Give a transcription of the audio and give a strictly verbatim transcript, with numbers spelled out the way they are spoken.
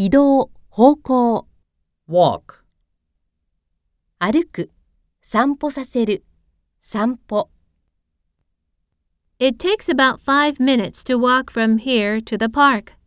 移動、方向、 walk, 歩く、散歩させる、散歩。 It takes about five minutes to walk from here to the park.